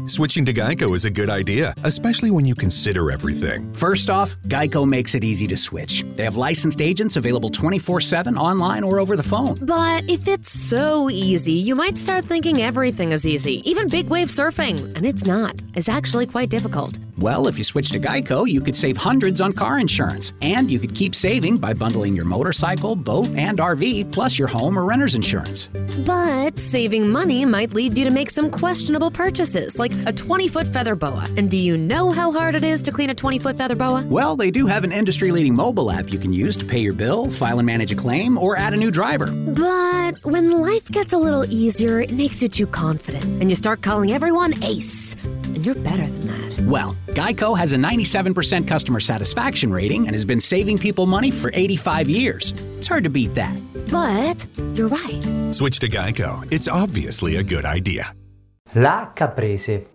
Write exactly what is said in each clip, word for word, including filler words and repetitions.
Switching to Geico is a good idea, especially when you consider everything. First off, Geico makes it easy to switch. They have licensed agents available twenty-four seven online or over the phone. But if it's so easy, you might start thinking everything is easy, even big wave surfing. And it's not. It's actually quite difficult. Well, if you switch to Geico, you could save hundreds on car insurance. And you could keep saving by bundling your motorcycle, boat, and R V, plus your home or renter's insurance. But saving money might lead you to make some questionable purchases, like a twenty-foot feather boa. And do you know how hard it is to clean a twenty-foot feather boa? Well, they do have an industry-leading mobile app you can use to pay your bill, file and manage a claim, or add a new driver. But when life gets a little easier, it makes you too confident, and you start calling everyone Ace. And you're better than that. Well, Geico has a ninety-seven percent customer satisfaction rating and has been saving people money for eighty-five years. It's hard to beat that. But you're right. Switch to Geico. It's obviously a good idea. La caprese.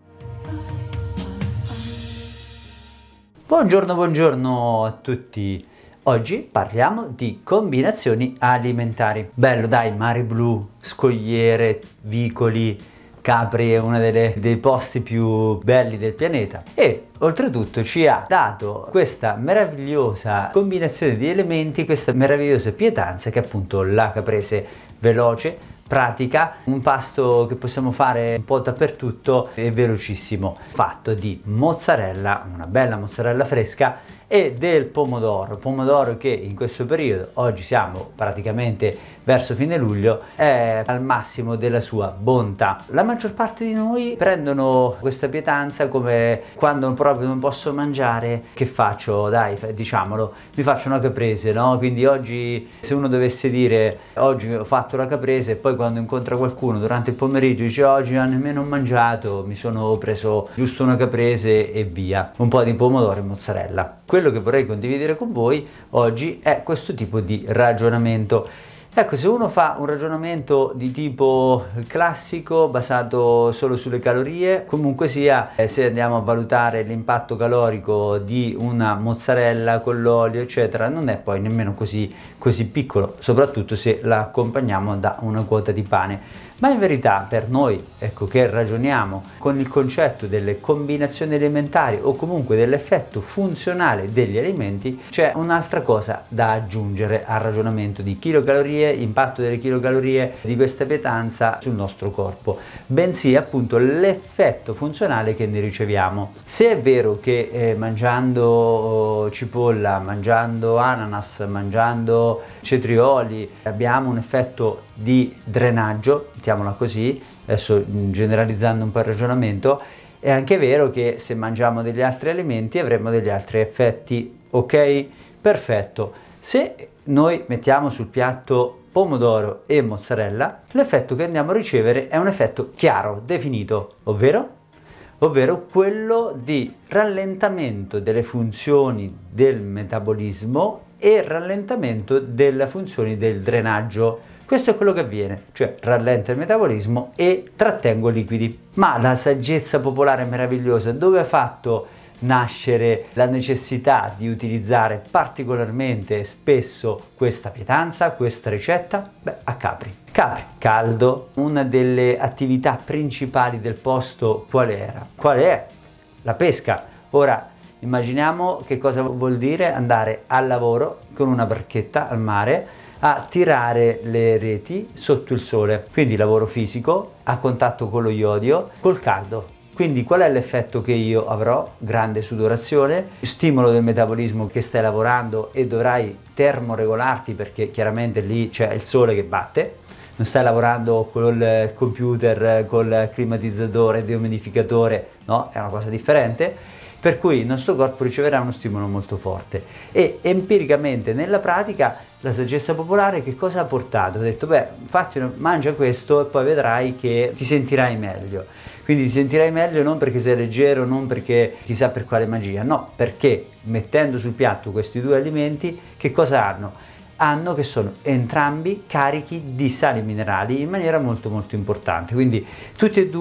Buongiorno, buongiorno a tutti. Oggi parliamo di combinazioni alimentari. Bello dai, mare blu, scogliere, vicoli, Capri è uno delle, dei posti più belli del pianeta e oltretutto ci ha dato questa meravigliosa combinazione di elementi, questa meravigliosa pietanza che è appunto la caprese veloce, pratica, un pasto che possiamo fare un po' dappertutto e velocissimo, fatto di mozzarella, una bella mozzarella fresca e del pomodoro, pomodoro che in questo periodo, oggi siamo praticamente verso fine luglio, è al massimo della sua bontà. La maggior parte di noi prendono questa pietanza come quando proprio non posso mangiare, che faccio? Dai, diciamolo, mi faccio una caprese, no? Quindi oggi, se uno dovesse dire oggi ho fatto la caprese e poi quando incontra qualcuno durante il pomeriggio dice oggi non ho nemmeno mangiato, mi sono preso giusto una caprese e via, un po' di pomodoro e mozzarella. Quello che vorrei condividere con voi oggi è questo tipo di ragionamento. Ecco, se uno fa un ragionamento di tipo classico, basato solo sulle calorie, comunque sia, eh, se andiamo a valutare l'impatto calorico di una mozzarella con l'olio, eccetera, non è poi nemmeno così, così piccolo, soprattutto se la accompagniamo da una quota di pane. Ma in verità per noi, ecco, che ragioniamo con il concetto delle combinazioni alimentari o comunque dell'effetto funzionale degli alimenti, c'è un'altra cosa da aggiungere al ragionamento di chilocalorie, impatto delle chilocalorie di questa pietanza sul nostro corpo, bensì appunto l'effetto funzionale che ne riceviamo. Se è vero che eh, mangiando cipolla, mangiando ananas, mangiando cetrioli abbiamo un effetto di drenaggio, mettiamola così, adesso generalizzando un po' il ragionamento, è anche vero che se mangiamo degli altri alimenti avremo degli altri effetti, ok? Perfetto. Se noi mettiamo sul piatto pomodoro e mozzarella, l'effetto che andiamo a ricevere è un effetto chiaro, definito, ovvero? ovvero quello di rallentamento delle funzioni del metabolismo e rallentamento delle funzioni del drenaggio. Questo è quello che avviene, cioè rallenta il metabolismo e trattengo liquidi. Ma la saggezza popolare meravigliosa dove ha fatto nascere la necessità di utilizzare particolarmente spesso questa pietanza, questa ricetta? Beh, a Capri. Capri, caldo, una delle attività principali del posto qual era? Qual è? La pesca. Ora, immaginiamo che cosa vuol dire andare al lavoro con una barchetta al mare a tirare le reti sotto il sole, quindi lavoro fisico, a contatto con lo iodio, col caldo. Quindi qual è l'effetto che io avrò? Grande sudorazione, stimolo del metabolismo che stai lavorando e dovrai termoregolarti perché chiaramente lì c'è il sole che batte, non stai lavorando col computer, col climatizzatore, deumidificatore, no? È una cosa differente. Per cui il nostro corpo riceverà uno stimolo molto forte e empiricamente nella pratica la saggezza popolare che cosa ha portato? Ha detto beh, infatti mangia questo e poi vedrai che ti sentirai meglio. Quindi ti sentirai meglio non perché sei leggero, non perché chissà per quale magia, no, perché mettendo sul piatto questi due alimenti che cosa hanno? Hanno che sono entrambi carichi di sali minerali in maniera molto molto importante, quindi tutti e due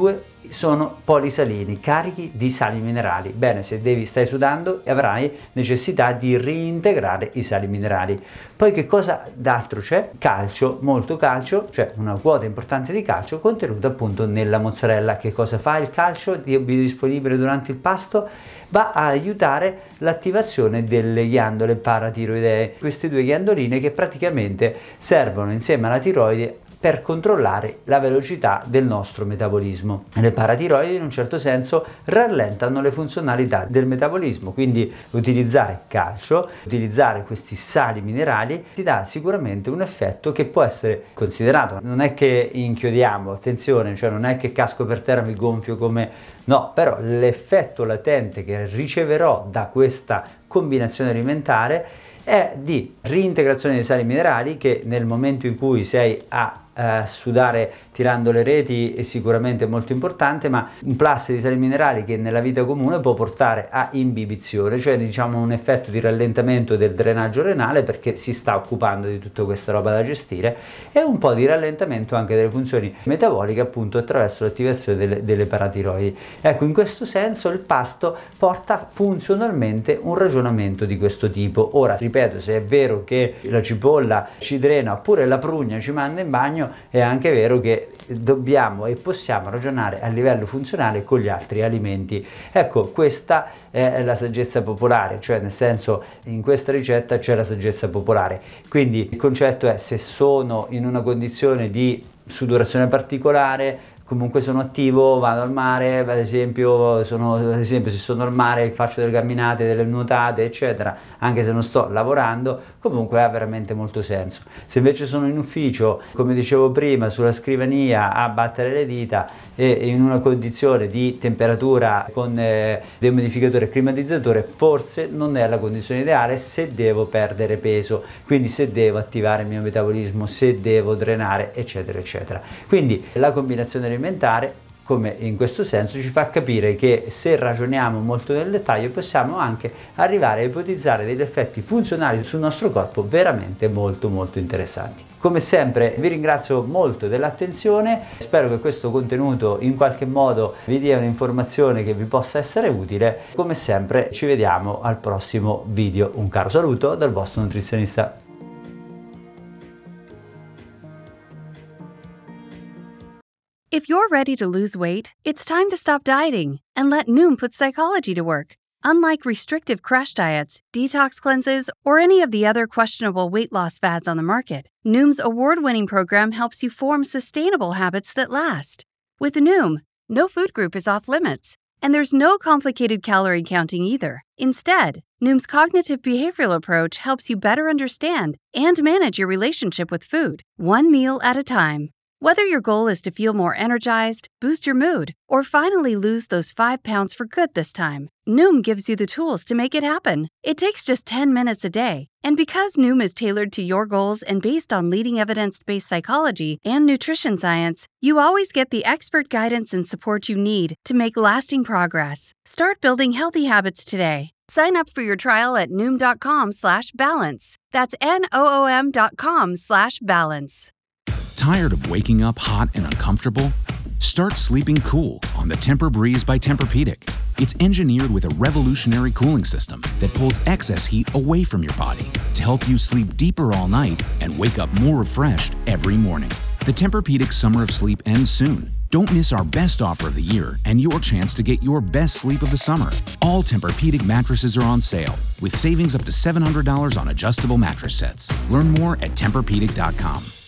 sono polisalini, carichi di sali minerali. Bene, se devi stai sudando avrai necessità di reintegrare i sali minerali. Poi che cosa d'altro c'è? Calcio, molto calcio, cioè una quota importante di calcio contenuta appunto nella mozzarella. Che cosa fa il calcio biodisponibile durante il pasto? Va a aiutare l'attivazione delle ghiandole paratiroidee, queste due ghiandoline che praticamente servono insieme alla tiroide per controllare la velocità del nostro metabolismo. Le paratiroidi in un certo senso rallentano le funzionalità del metabolismo, quindi utilizzare calcio, utilizzare questi sali minerali ti dà sicuramente un effetto che può essere considerato. Non è che inchiodiamo, attenzione, cioè non è che casco per terra, mi gonfio come... No, però l'effetto latente che riceverò da questa combinazione alimentare è di reintegrazione dei sali minerali, che nel momento in cui sei a Uh, sudare tirando le reti è sicuramente molto importante, ma un plus di sali minerali che nella vita comune può portare a imbibizione, cioè diciamo un effetto di rallentamento del drenaggio renale, perché si sta occupando di tutta questa roba da gestire, e un po' di rallentamento anche delle funzioni metaboliche appunto attraverso l'attivazione delle, delle paratiroidi. Ecco, in questo senso il pasto porta funzionalmente un ragionamento di questo tipo. Ora, ripeto, se è vero che la cipolla ci drena oppure la prugna ci manda in bagno, è anche vero che dobbiamo e possiamo ragionare a livello funzionale con gli altri alimenti. Ecco, questa è la saggezza popolare, cioè nel senso, in questa ricetta c'è la saggezza popolare. Quindi il concetto è: se sono in una condizione di sudorazione particolare, comunque sono attivo, vado al mare, ad esempio, sono, ad esempio se sono al mare faccio delle camminate, delle nuotate eccetera, anche se non sto lavorando, comunque ha veramente molto senso. Se invece sono in ufficio, come dicevo prima, sulla scrivania a battere le dita e in una condizione di temperatura con eh, deumidificatore e climatizzatore, forse non è la condizione ideale se devo perdere peso, quindi se devo attivare il mio metabolismo, se devo drenare eccetera eccetera. Quindi la combinazione alimentare, come in questo senso, ci fa capire che se ragioniamo molto nel dettaglio possiamo anche arrivare a ipotizzare degli effetti funzionali sul nostro corpo veramente molto molto interessanti. Come sempre vi ringrazio molto dell'attenzione, spero che questo contenuto in qualche modo vi dia un'informazione che vi possa essere utile. Come sempre ci vediamo al prossimo video. Un caro saluto dal vostro nutrizionista. If you're ready to lose weight, it's time to stop dieting and let Noom put psychology to work. Unlike restrictive crash diets, detox cleanses, or any of the other questionable weight loss fads on the market, Noom's award-winning program helps you form sustainable habits that last. With Noom, no food group is off limits, and there's no complicated calorie counting either. Instead, Noom's cognitive behavioral approach helps you better understand and manage your relationship with food, one meal at a time. Whether your goal is to feel more energized, boost your mood, or finally lose those five pounds for good this time, Noom gives you the tools to make it happen. It takes just ten minutes a day. And because Noom is tailored to your goals and based on leading evidence-based psychology and nutrition science, you always get the expert guidance and support you need to make lasting progress. Start building healthy habits today. Sign up for your trial at noom.com slash balance. That's N-O-O-M dot com slash balance. Tired of waking up hot and uncomfortable? Start sleeping cool on the Tempur-Breeze by Tempur-Pedic. It's engineered with a revolutionary cooling system that pulls excess heat away from your body to help you sleep deeper all night and wake up more refreshed every morning. The Tempur-Pedic Summer of Sleep ends soon. Don't miss our best offer of the year and your chance to get your best sleep of the summer. All Tempur-Pedic mattresses are on sale with savings up to seven hundred dollars on adjustable mattress sets. Learn more at Tempur Pedic dot com.